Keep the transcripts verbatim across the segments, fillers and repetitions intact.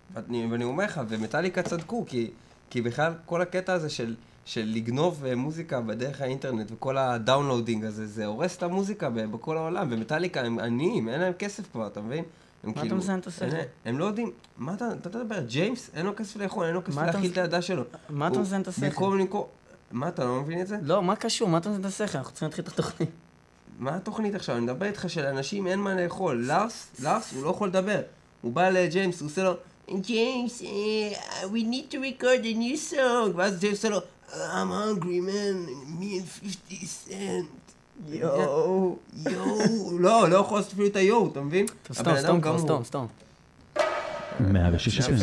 ואני אומר לך, ומטליקה צדקו, כי, כי בכלל כל הקטע הזה של, של לגנוב מוזיקה בדרך האינטרנט, וכל הדאונלודינג הזה, זה הורס את המוזיקה בכל העולם, ומטליקה הם עניים, אין להם כסף כבר, אתה מבין? מה כאילו, אתה מזיין את השכל? הם לא יודעים, מה אתה, אתה תדבר, ג'יימס, אין לו כסף לאכול, אין לו כסף להכיל את הידה שלו. מה אתה מזיין את השכל? במקום למכור, מה, אתה לא מבין את זה? לא, מה קשור? מה אתה מזיין את השכל? אנחנו צריכים להתחיל את התוכנית. מה התוכנית עכשיו? אני מדבר איתך שלאנשים אין מה לאכול. לארס, לארס, הוא לא יכול לדבר. הוא בא לג'יימס, הוא עושה לו, ג'יימס, we need to record a new song. ואז ג'יימס עושה לו, I'm hungry man, me and fifty cent. יואו, יואו, לא, לא יכול לעשות אפילו את היואו, אתה מבין? סתום, סתום, כבר סתום, סתום. מאה ושש אפים.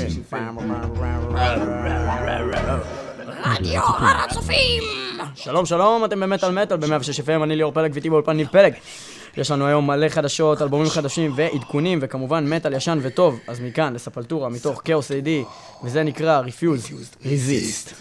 רדיו הר הצופים! שלום שלום, אתם במטל מטל ב-מאה ושש אפים, אני ליאור פלג ואיתי באולפן ניב פלג. יש לנו היום מלא חדשות, אלבומים חדשים ועדכונים וכמובן מטל ישן וטוב. אז מכאן לספלטורה מתוך כאוס איי די, וזה נקרא Refuse Resist.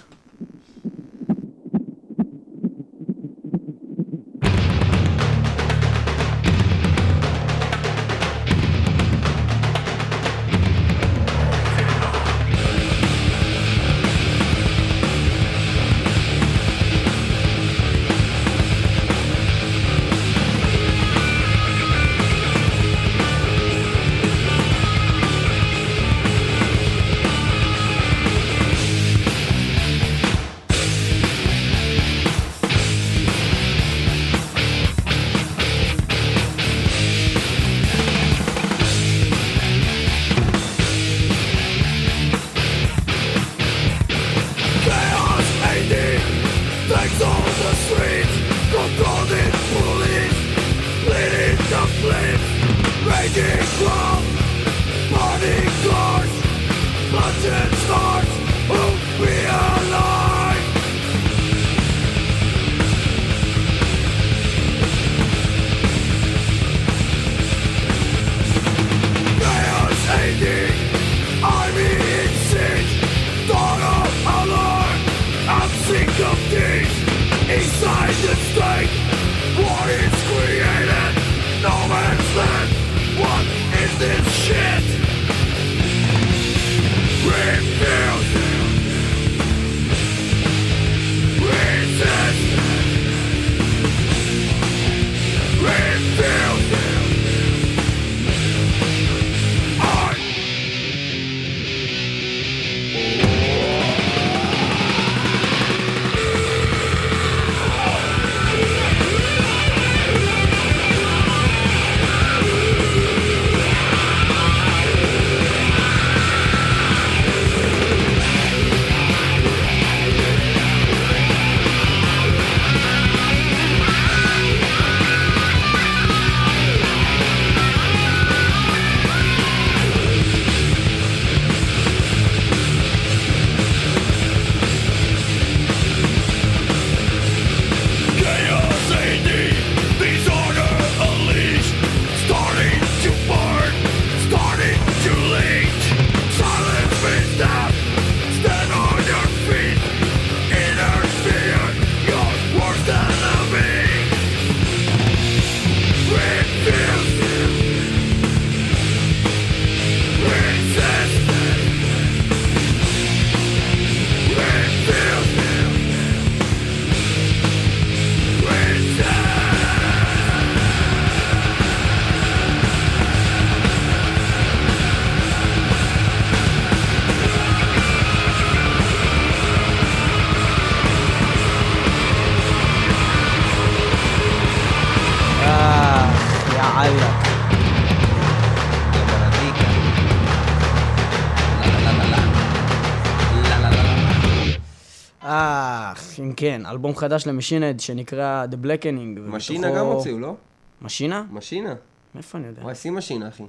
כן, אלבום חדש למשינד שנקרא The Blackening. משינה גם הוציאו, לא? משינה? משינה. מאיפה אני יודע? וואי, שים משינה, אחי.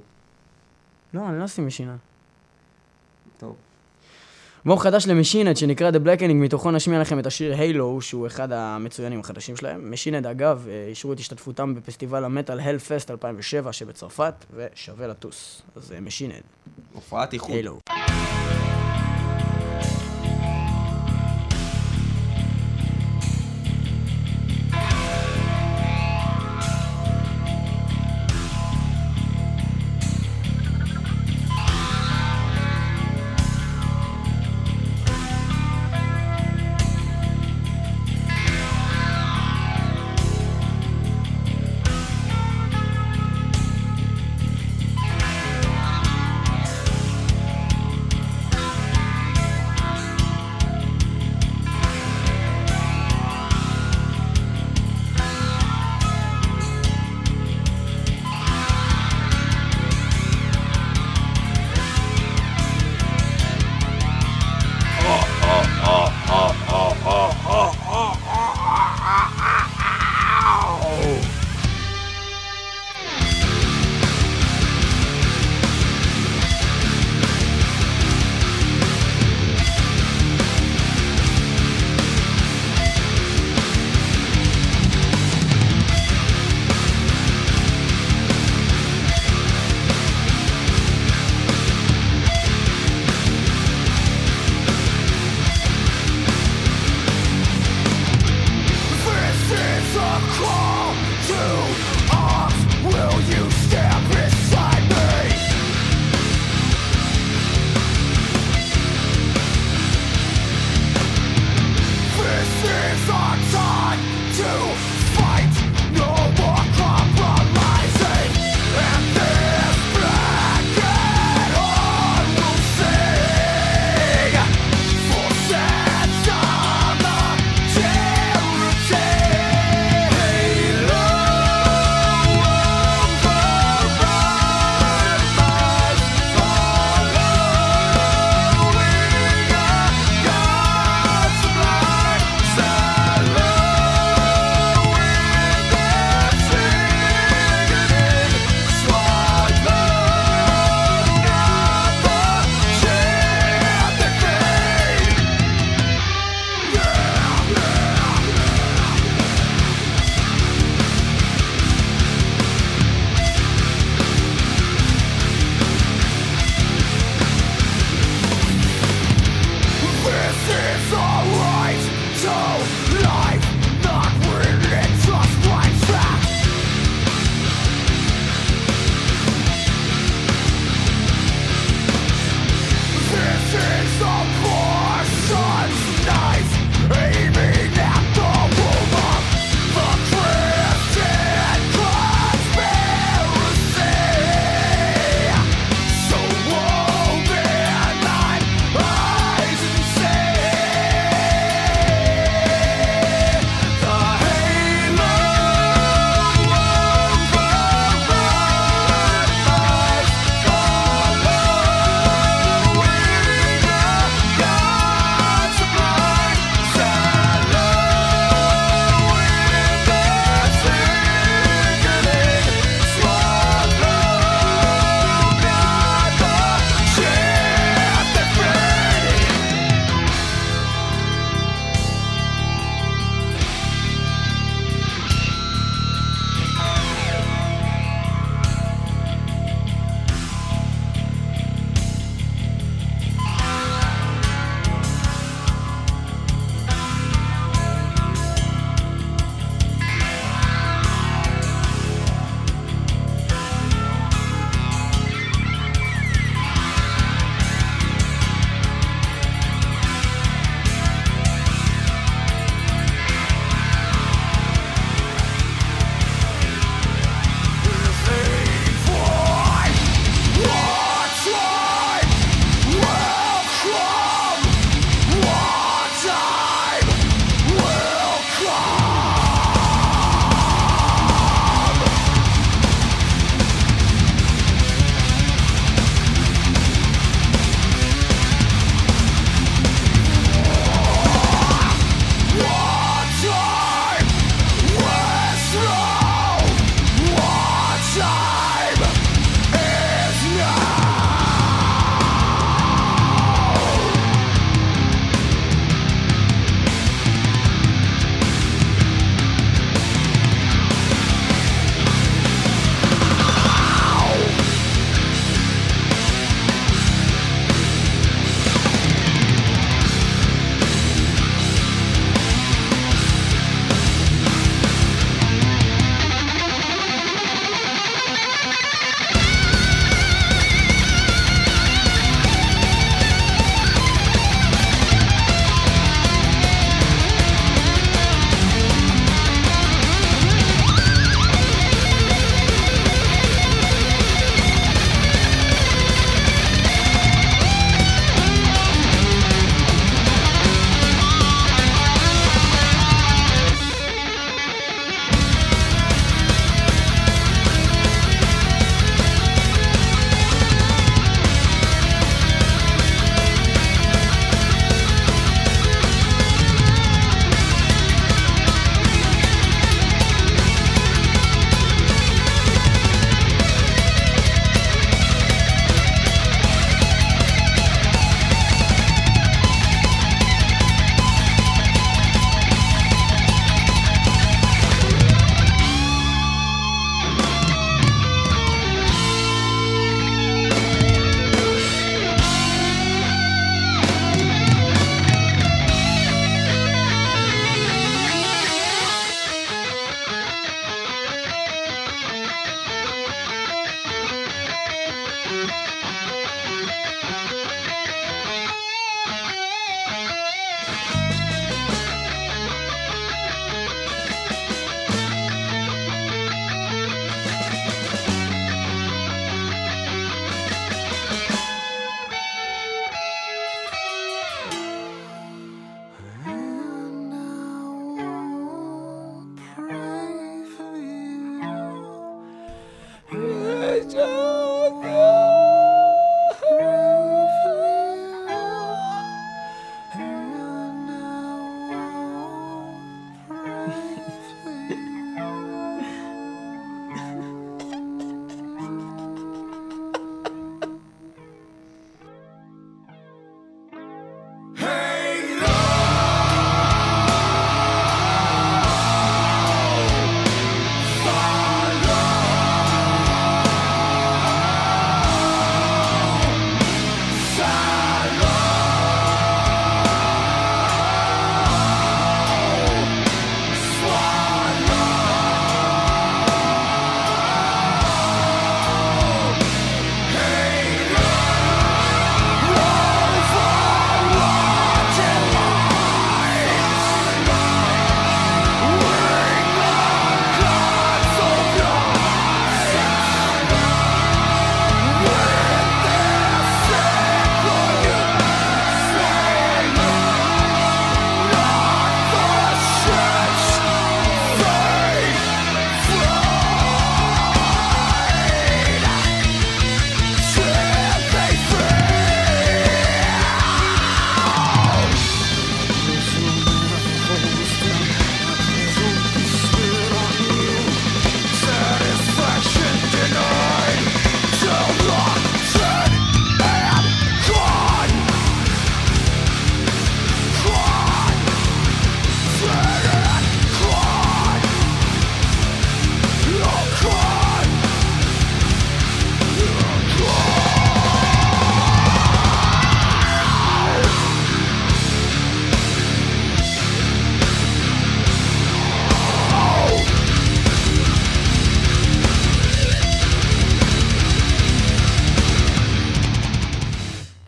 לא, אני לא שים משינה. טוב. אלבום חדש למשינד שנקרא The Blackening, מתוכו נשמיע לכם את השיר הילו, שהוא אחד המצוינים החדשים שלהם. משינד, אגב, אישרו את השתתפותם בפסטיבל המטל הלפסט אלפיים ושבע שבצרפת, ושווה לטוס. אז משינד. הופעת איחוד. הילו.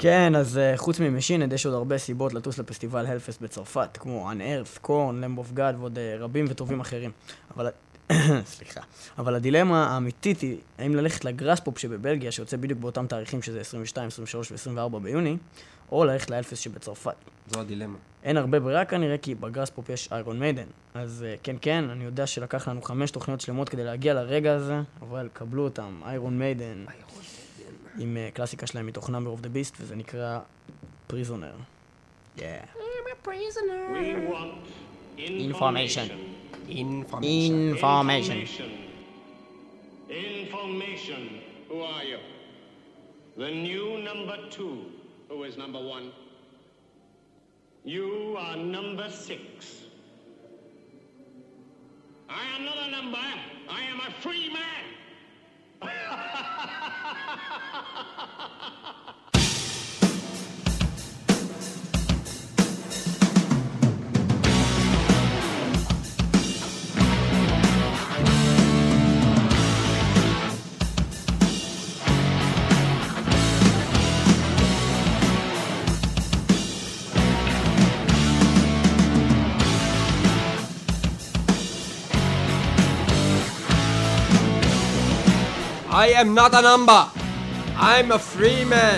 כן, אז uh, חוץ ממשינד יש עוד הרבה סיבות לטוס לפסטיבל הלפסט בצרפת, כמו אנארף, קורן, למב אוף גאד ועוד uh, רבים וטובים אחרים. אבל... סליחה. אבל הדילמה האמיתית היא, האם ללכת לגראספופ שבבלגיה, שיוצא בדיוק באותם תאריכים שזה עשרים ושתיים, עשרים ושלוש ו-עשרים וארבע ביוני, או ללכת להלפסט שבצרפת. זו הדילמה. אין הרבה ברירה כנראה, כי בגראספופ יש איירון מיידן. אז uh, כן, כן, אני יודע שלקח לנו חמש תוכניות שלמות כדי להגיע לרגע הזה, אבל קבלו אותם, איירון מיידן. עם uh, קלאסיקה שלהם מתוך Number of the Beast, וזה נקרא Prisoner. Yeah. I'm a prisoner. We want Information. Information. Information. Information. Who are you? The new number two. Who is number one? You are number six. I am not a number. I am a free man. I am not a number. I'm a free man.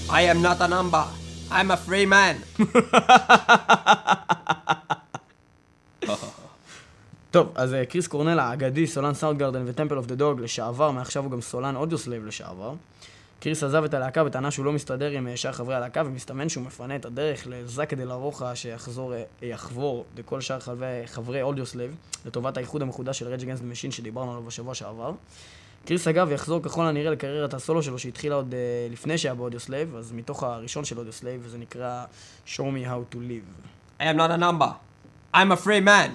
I am not a number. I'm a free man. טוב, אז קריס קורנל האגדי, סולן סאונדגרדן וטמפל אוף דה דוג לשעבר, מעכשיו הוא גם סולן אודיוסלייב לשעבר. קריס עזב את הלהקה וטענה שהוא לא מסתדר עם שאר חברי הלהקה, ומסתמן שהוא מפנה את הדרך לזאק דה לה רוחה שיחזור, יחבור לכל שאר חברי אודיוסלייב, לטובת האיחוד המחודש של Rage Against the Machine שדיברנו עליו בשבוע שעבר. קריס אגב יחזור ככל הנראה לקריירת הסולו שלו שהתחילה עוד uh, לפני שהיה באודיוסלייב, אז מתוך הראשון של אודיוסלייב, וזה נקרא Show Me How to Live. I am not a number. I'm a free man.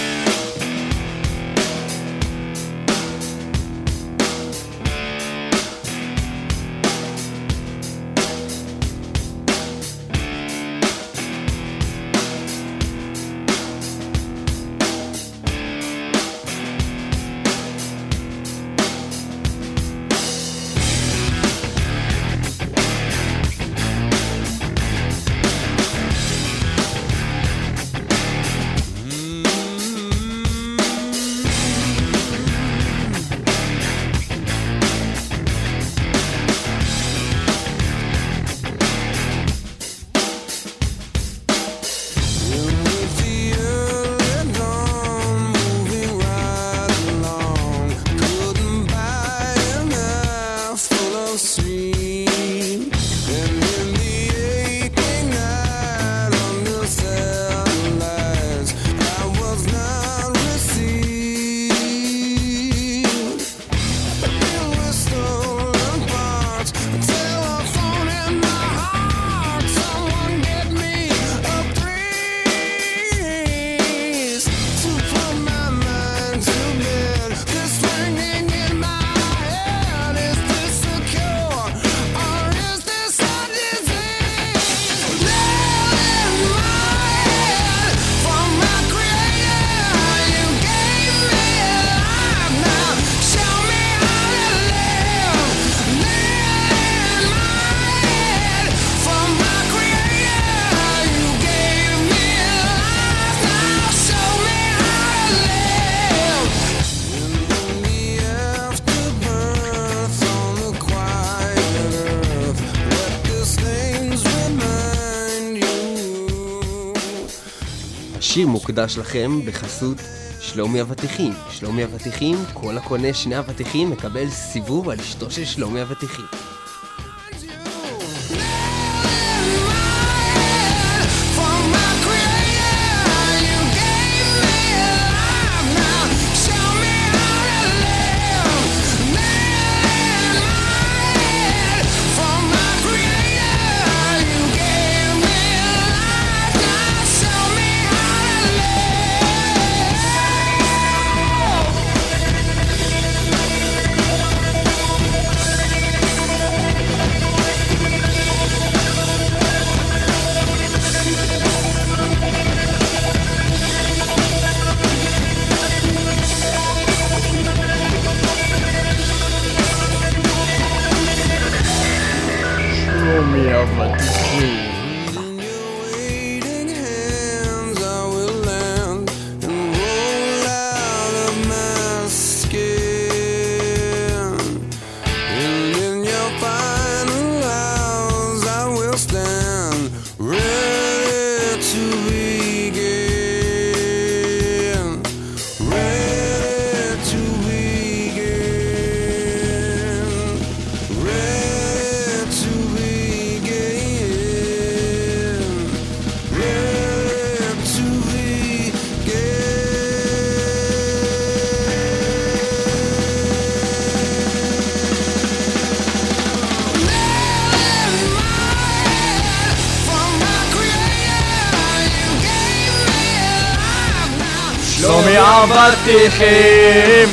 השיר מוקדש לכם בחסות שלומי אבטיחים. שלומי אבטיחים, כל הקונה שני אבטיחים מקבל סיבוב על אשתו של שלומי אבטיחים. שלומי אבטיחים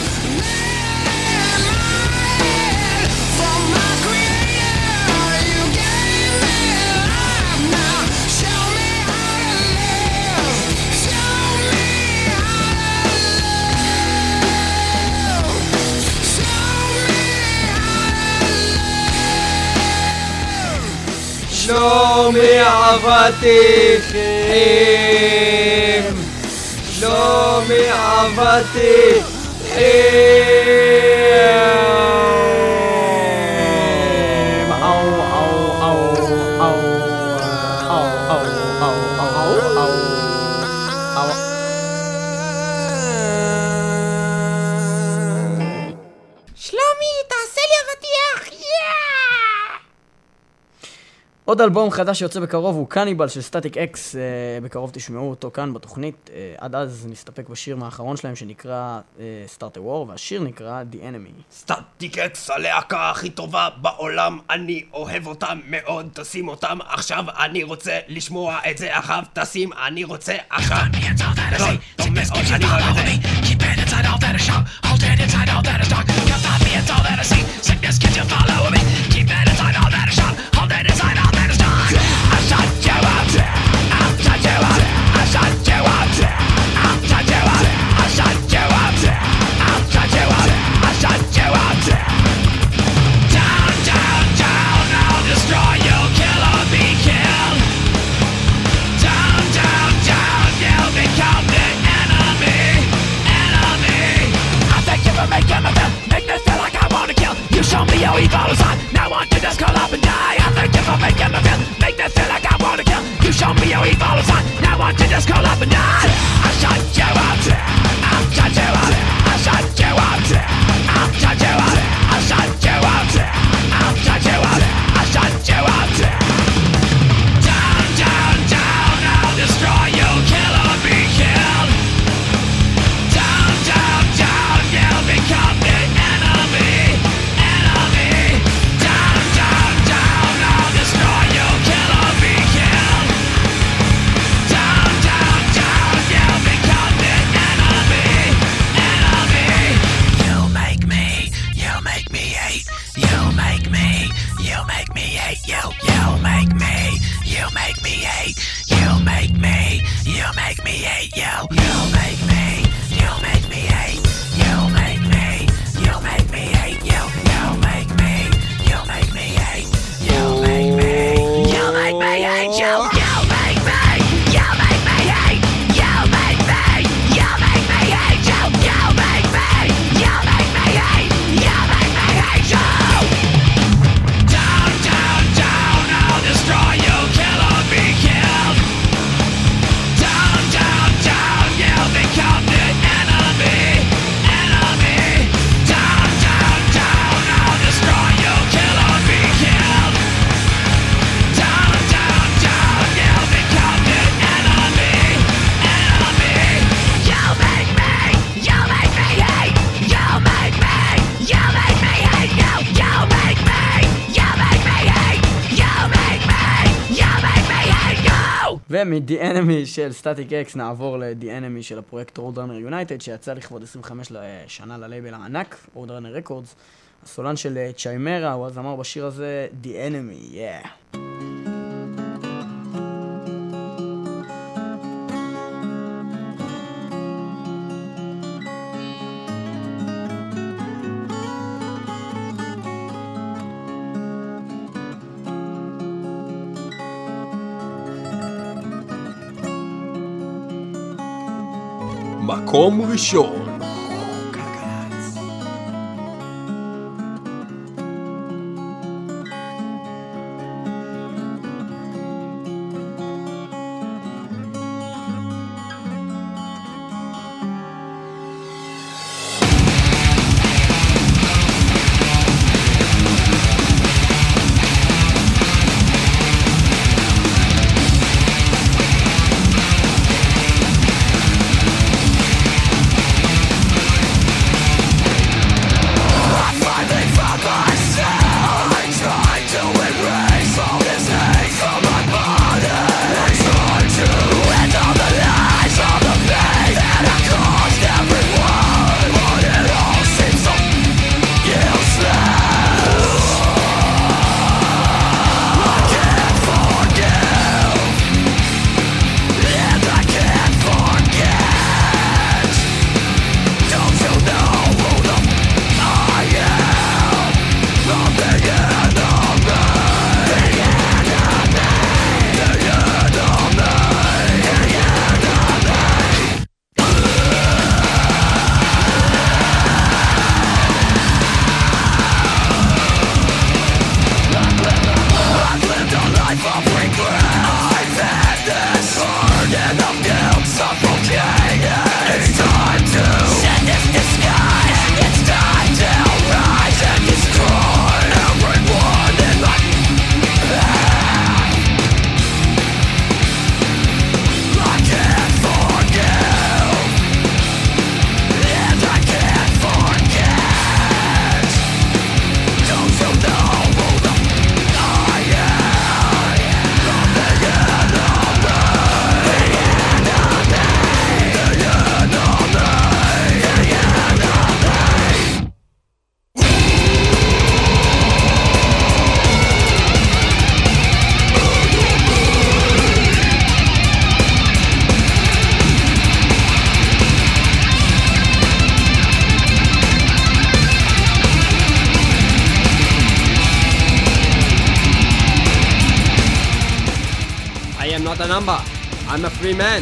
שלומי אבטיחים שלומי אבטיחים אau אau אau שלומי, תעשה לי אבטיח! יאה! עוד אלבום חדש שיוצא בקרוב הוא קניבל של סטטיק אקס, בקרוב תשמעו אותו כאן בתוכנית. עד אז נסתפק בשיר מהאחרון שלהם שנקרא Start a War, והשיר נקרא The Enemy. סטטיק אקס הלהקה הכי טובה בעולם, אני אוהב אותם מאוד, תשים אותם עכשיו, אני רוצה לשמוע את זה עכשיו, תשים, אני רוצה עכשיו. גדול, טוב מאוד, אני אוהב את זה. Keep it inside all that is sharp, hold it inside all that is dark. Can't stop me, it's all that I see. Sickness, can you follow me? Keep it inside all that is sharp, hold it inside all that is dark. I shut you up, I'll shut you up, I shut you up, I'll shut you up, I shut you up, I'll shut you up, I shut you up. Down, down, down, I'll destroy you, kill or be killed. Down, down, down, you'll become the enemy, enemy. I thank you for making me feel, make me feel like I wanna kill. You show me your evil side, now I want you to just curl up and die. I thank you for making me feel, make me feel like I wanna kill. You show me your evil side, now I want you to just curl up and die. I shut you up, I'll shut you up, I shut you up, I'll shut you up, I shut you up, I'll shut you up, I shut you up. Down, down, down, I'll destroy you, kill or be killed. Down, down, down, you'll become the enemy, enemy. Down, down, down, I'll destroy you, kill or be killed. Down, down, down, you'll become the enemy, enemy. You make me, you make me hate. You make me, you make me hate. You, you make me, you make me hate. You make me, you make me hate. You, you make me, you make me hate. You make me, you make me hate. You, you make me, you make me hate. You make me, you make me hate. You, you make me, you make me hate. You make me, you make me hate. You, you make me, you make me hate. You make me hate. You. Down, down, down, I'll destroy you, kill or be killed. Down, down, down, you'll become the enemy, enemy. Down, down, down, I'll destroy you, kill or be killed. Down, down, down, you'll become the enemy, enemy. You make me, you make me hate. You make me, you make me hate. You, you make me, you make me hate. You make me, you make me hate. You. ומ-The Enemy של סטטיק אקס נעבור ל-The Enemy של הפרויקט Roadrunner United שיצא לכבוד עשרים וחמש שנה ללייבל הענק, Roadrunner Records. הסולן של צ'יימרה, הוא אז אמר בשיר הזה The Enemy, yeah. מקום ראשון. You I am not a number. I'm a free man.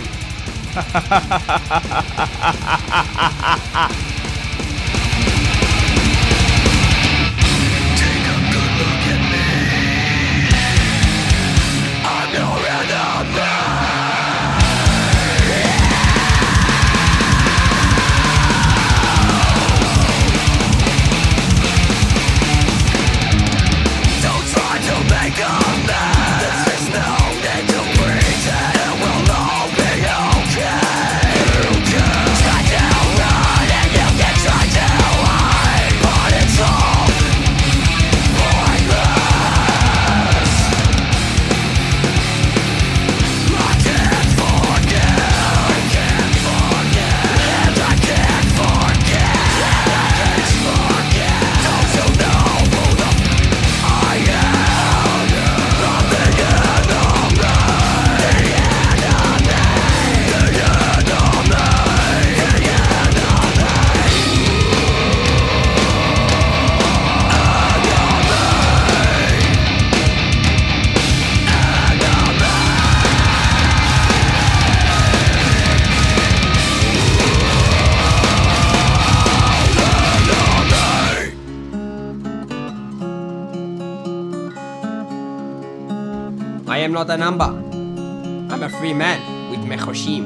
I am not a number. I'm a free man with mechoshim.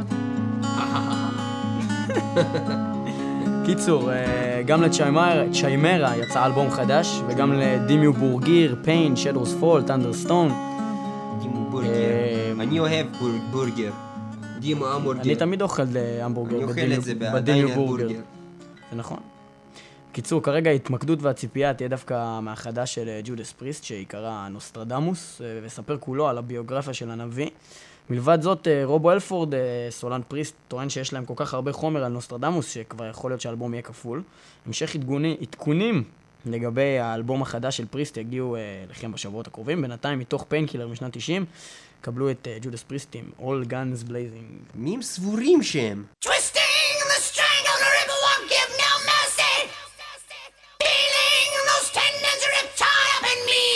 קיצור, גם לצ'יימרה יצא אלבום חדש, וגם לדימיו בורגיר, פיין, שדורס פול, טנדרסטון. דימו בורגר. אני אוהב בורגר. דימו המבורגר. אני תמיד אוכל המבורגר. אני אוכל את זה בדימיו בורגר. זה נכון. קיצור, כרגע ההתמקדות והציפייה תהיה דווקא מהחדש של ג'ודס פריסט, שיקרא נוסטרדמוס, וספר כולו על הביוגרפיה של הנביא. מלבד זאת, רובו אלפורד, סולן פריסט, טוען שיש להם כל כך הרבה חומר על נוסטרדמוס, שכבר יכול להיות שהאלבום יהיה כפול. המשך עדכונים לגבי האלבום החדש של פריסט יגיעו לכם בשבועות הקרובים. בינתיים, מתוך פיינקילר משנת תשעים, קבלו את ג'ודס פריסט עם All Guns Blazing. מי הם סבורים שהם? Twisting the strangle, the ripple won't give no mercy. Feeling those tendons ripped high up in me.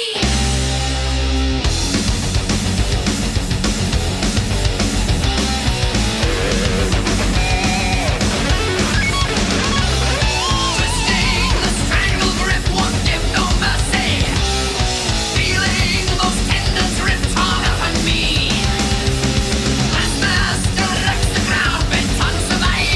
Twisting the strangle grip won't give no mercy. Feeling those tendons ripped hard up on me. As master left the ground, bent on survival.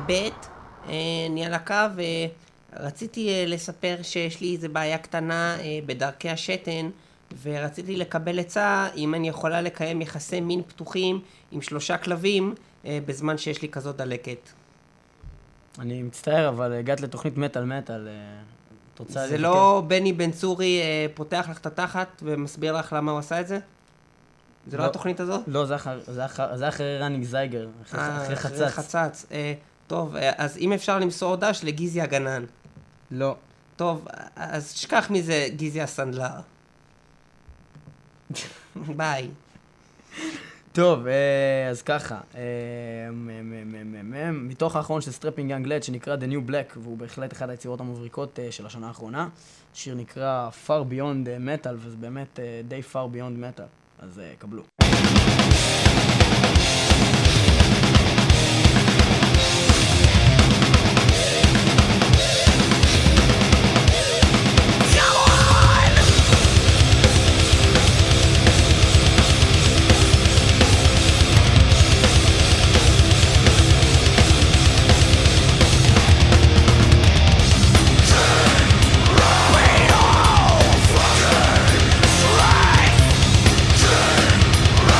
ב', אני על הקו, רציתי לספר שיש לי איזה בעיה קטנה בדרכי השתן, ורציתי לקבל עצה אם אני יכולה לקיים יחסי מין פתוחים עם שלושה כלבים בזמן שיש לי כזאת דלקת. אני מצטער, אבל הגעת לתוכנית מטל מטל. זה לא בני בן צורי פותח לך את התחת ומסביר לך למה הוא עשה את זה? זה לא התוכנית הזאת? לא, זה אחרי רניג זייגר, אחרי חצץ. אחרי חצץ. טוב, אז אם אפשר למסור דש לגיזי הגנן. לא. טוב, אז שכח מזה גיזי הסנדלר. ביי. טוב, אז ככה, מתוך האחרון של סטרפינג יאנג לד שנקרא The New Black, והוא בהחלט אחד היצירות המבריקות של השנה האחרונה, שיר נקרא Far Beyond Metal, וזה באמת די Far Beyond Metal, אז קבלו. Right!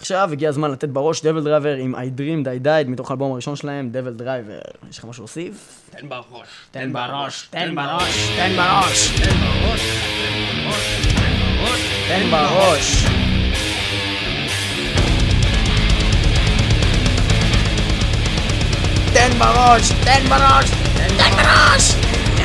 עכשיו הגיע הזמן לתת בראש דבל דרייבר עם I Dreamed I Died מתוך האלבום הראשון שלהם, דבל דרייבר. יש לך משהו להוסיף? תן בראש. תן בראש, תן בראש, תן בראש, תן בראש. תן בראש, תן בראש, תן בראש.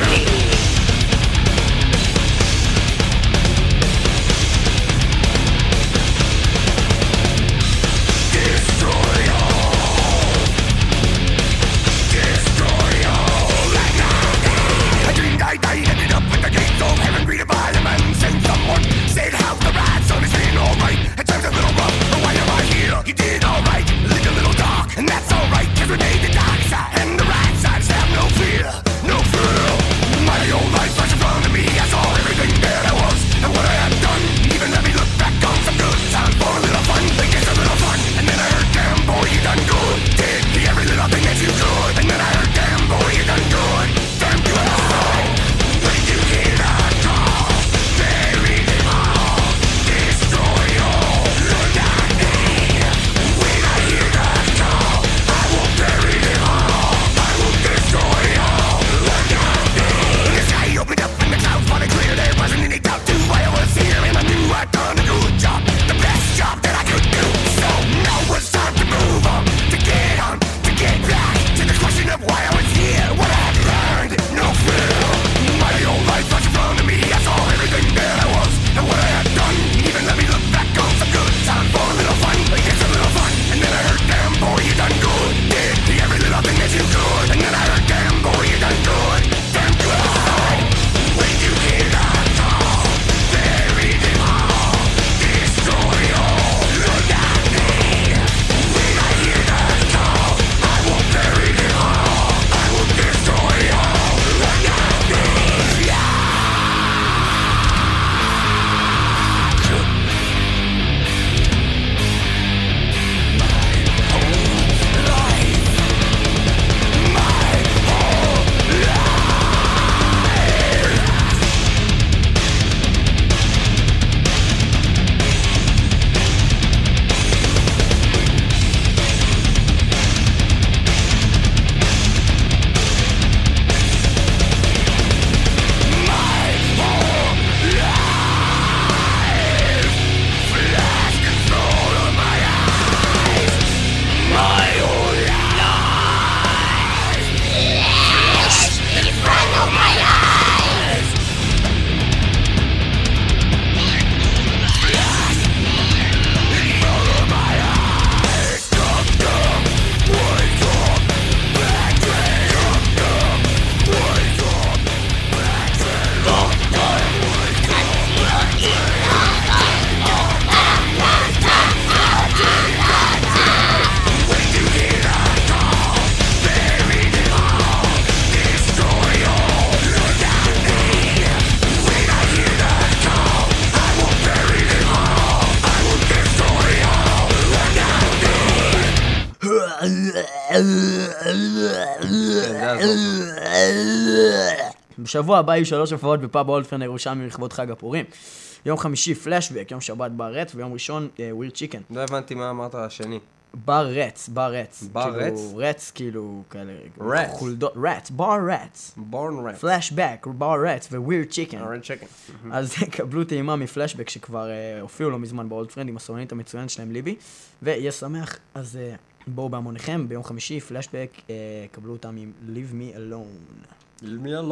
בשבוע הבא יהיו שלוש הופעות בפאב אולדפרן הירושלמי לכבוד חג הפורים. יום חמישי פלשבק, יום שבת בר רץ, ויום ראשון ווירד צ'יקן. לא הבנתי מה אמרת השני. בר רץ, בר רץ. בר רץ? רץ כאילו כאלה... רץ. חולדות, רץ, בר רץ. בורן רץ. פלשבק, בר רץ ווירד צ'יקן. ווירד צ'יקן. אז קבלו טעימה מפלשבק שכבר הופיעו לא מזמן באולדפרן עם הסולנית המצוינת שלהם ליבי. ויהיה שמח, אז בואו בהמוניכם, ביום חמישי פלשבק, קבלו אותם עם Leave Me Alone. Leave me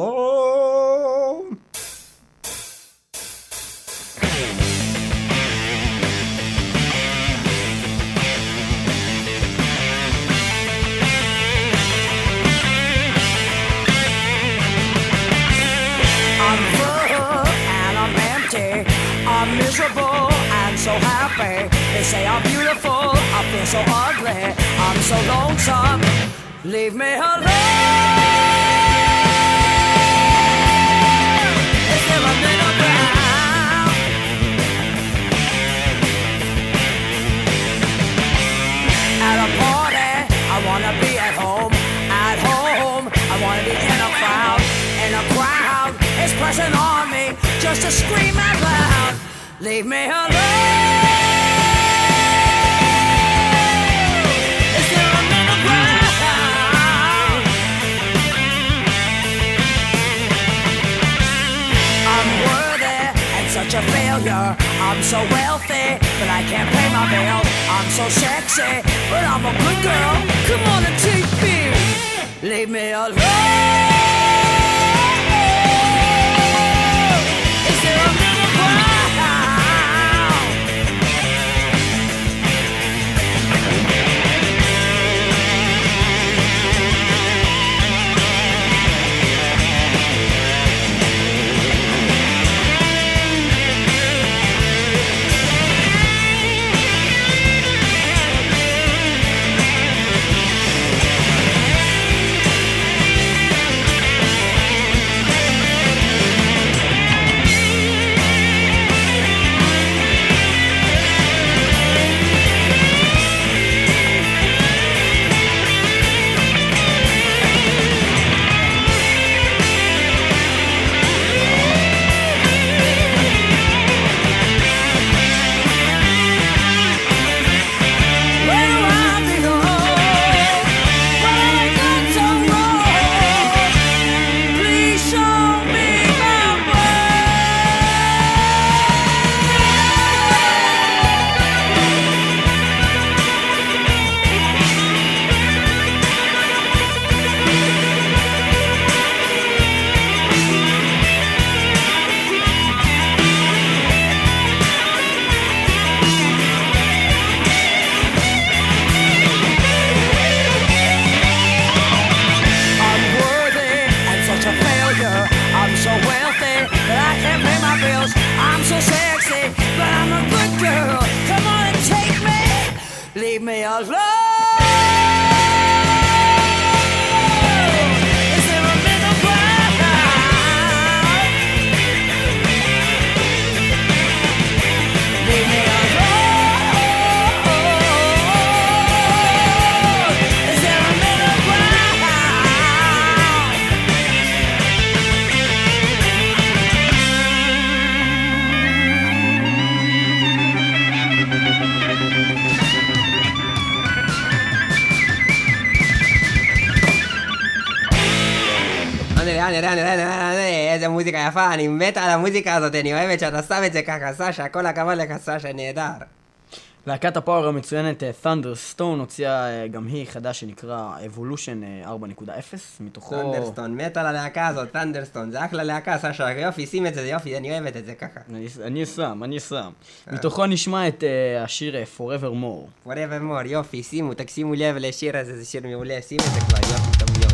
alone. I'm full and I'm empty. I'm miserable and so happy. They say I'm beautiful, I feel so ugly. I'm so lonesome. Leave me alone. Is there a middle ground? At a party, I wanna be at home. At home, I wanna be in a crowd. In a crowd, it's pressing on me just to scream out loud. Leave me alone. such a failure. I'm so wealthy, but I can't pay my bills. I'm so sexy, but I'm a good girl. Come on and take me. Leave me alone. Is there a middle ground? Leave me alone. Is there a middle ground? Leave me alone. Is there a middle ground? אני יודע, אני יודע, אני יודע, איזה מוזיקה יפה, אני מת על המוזיקה הזאת, אני אוהבת שאתה שם את זה ככה, סשה, כל הכבוד לך, סשה, נהדר. להקת הפאוור המצוינת Thunderstone הוציאה גם היא חדש שנקרא Evolution ארבע נקודה אפס, מתוכו... Thunderstone, מת על הלהקה הזאת, Thunderstone, זה אחלה להקה, סשה, יופי, שים את זה, יופי, אני אוהבת את זה ככה. אני שם, אני שם. מתוכו נשמע את השיר Forevermore. Forevermore, יופי, שימו, תקשימו לב לשיר הזה, זה שיר מעולה, שים את זה כבר, יופי, טוב מאוד.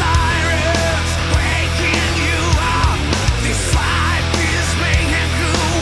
This life is mayhem.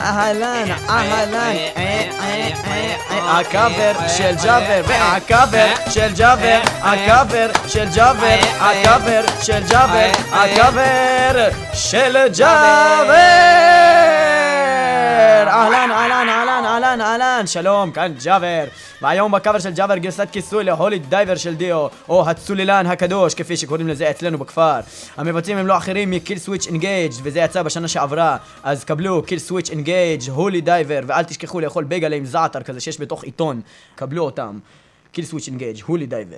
אהלן, אהלן, הקאבר של ג'אבר, והקאבר של ג'אבר, הקאבר של ג'אבר, הקאבר של ג'אבר, הקאבר של ג'אבר. אהלן, אהלן, אהלן, אהלן, אהלן, שלום, כאן ג'אבר. והיום בקאבר של ג'אבר גרסת כיסוי להולי דייבר של דיו, או הצוללן הקדוש, כפי שקוראים לזה אצלנו בכפר. המבצעים הם לא אחרים מקיל סוויץ' אנגייג', וזה יצא בשנה שעברה, אז קבלו קיל סוויץ' אנגייג', הולי דייבר, ואל תשכחו לאכול בייגלה עם זעתר כזה שיש בתוך עיתון. קבלו אותם. קיל סוויץ' אנגייג', הולי דייבר.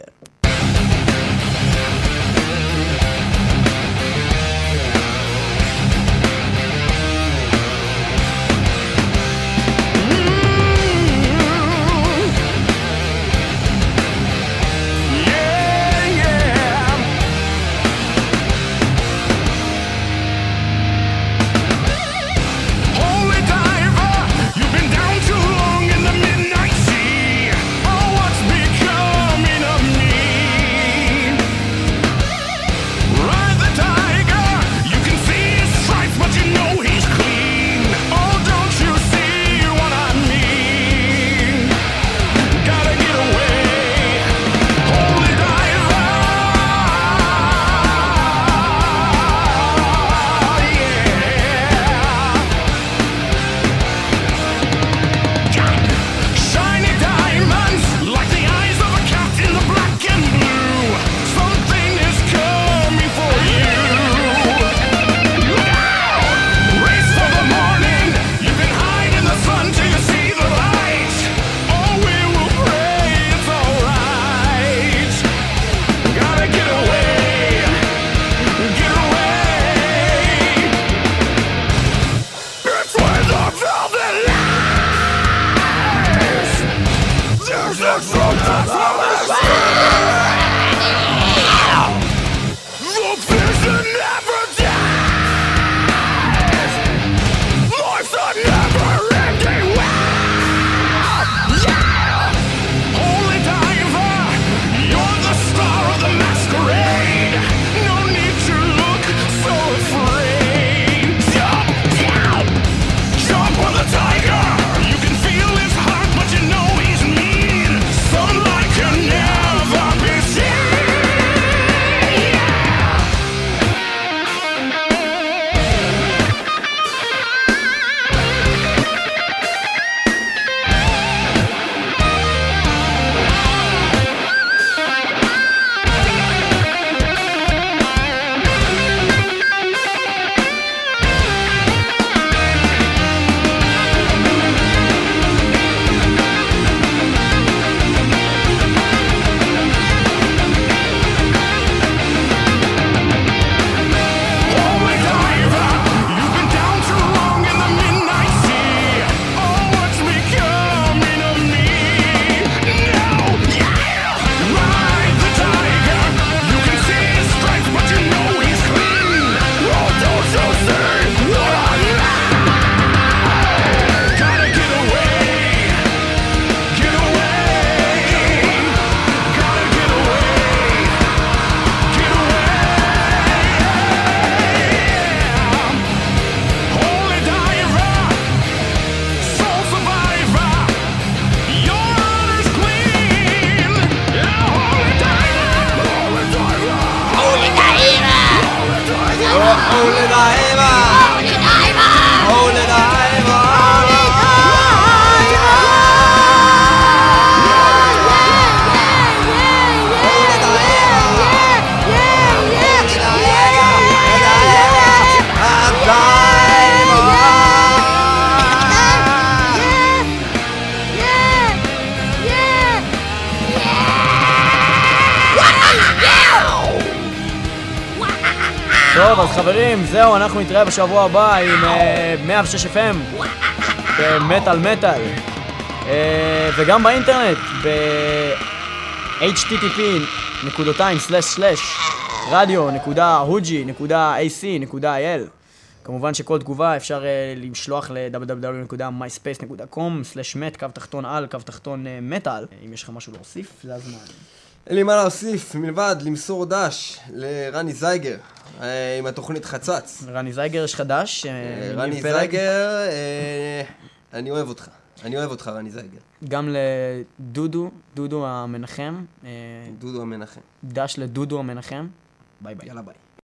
טוב, אז חברים, זהו, אנחנו נתראה בשבוע הבא עם מאה ושש אף אם במטל מטל, וגם באינטרנט ב-אייץ' טי טי פי נקודתיים סלש סלש רדיו נקודה הוג'י נקודה איי סי נקודה איי אל. כמובן שכל תגובה אפשר לשלוח ל-דאבליו דאבליו דאבליו נקודה מי ספייס נקודה קום סלש מט קו תחתון על קו תחתון מטל. אם יש לך משהו להוסיף, זה הזמן. אין לי מה להוסיף, מלבד למסור דש לרני זייגר, אה, עם התוכנית חצץ. רני זייגר יש חדש. אה, רני זייגר, אה, אני אוהב אותך. אני אוהב אותך, רני זייגר. גם לדודו, דודו המנחם. אה, דודו המנחם. דש לדודו המנחם. ביי ביי. יאללה ביי.